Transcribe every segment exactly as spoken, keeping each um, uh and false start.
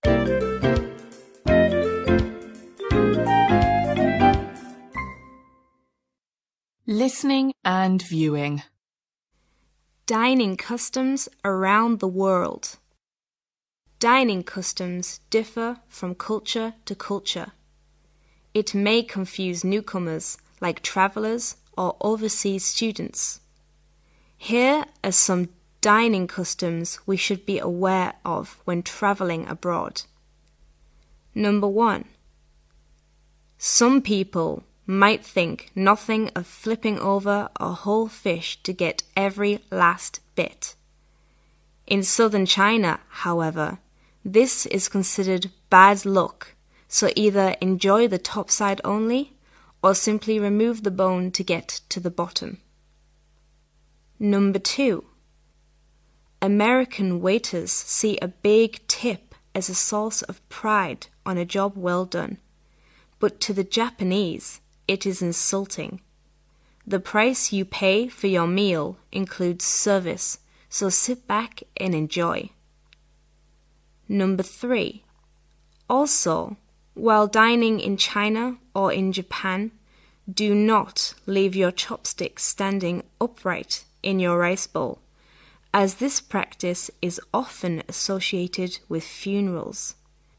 Listening and viewing. Dining customs around the world. Dining customs differ from culture to culture. It may confuse newcomers like travelers or overseas students. Here are some dining customs we should be aware of when traveling abroad. Number one. Some people might think nothing of flipping over a whole fish to get every last bit. In southern China, however, this is considered bad luck, so either enjoy the top side only or simply remove the bone to get to the bottom. Number two. American waiters see a big tip as a source of pride on a job well done, but to the Japanese, it is insulting. The price you pay for your meal includes service, so sit back and enjoy. Number three. Also, while dining in China or in Japan, do not leave your chopsticks standing upright in your rice bowl, as this practice is often associated with funerals.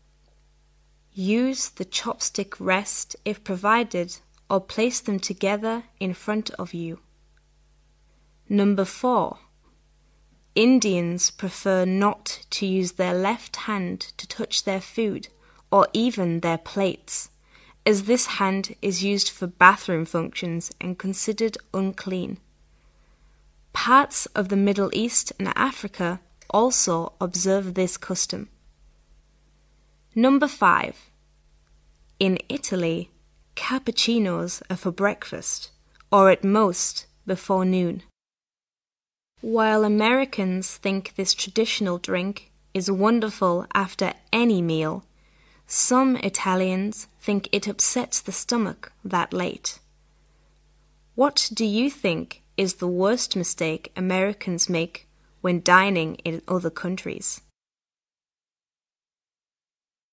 Use the chopstick rest if provided, or place them together in front of you. Number four. Indians prefer not to use their left hand to touch their food or even their plates, as this hand is used for bathroom functions and considered unclean. Parts of the Middle East and Africa also observe this custom. Number five. In Italy, cappuccinos are for breakfast, or at most before noon. While Americans think this traditional drink is wonderful after any meal, some Italians think it upsets the stomach that late. What do you think is the worst mistake Americans make when dining in other countries?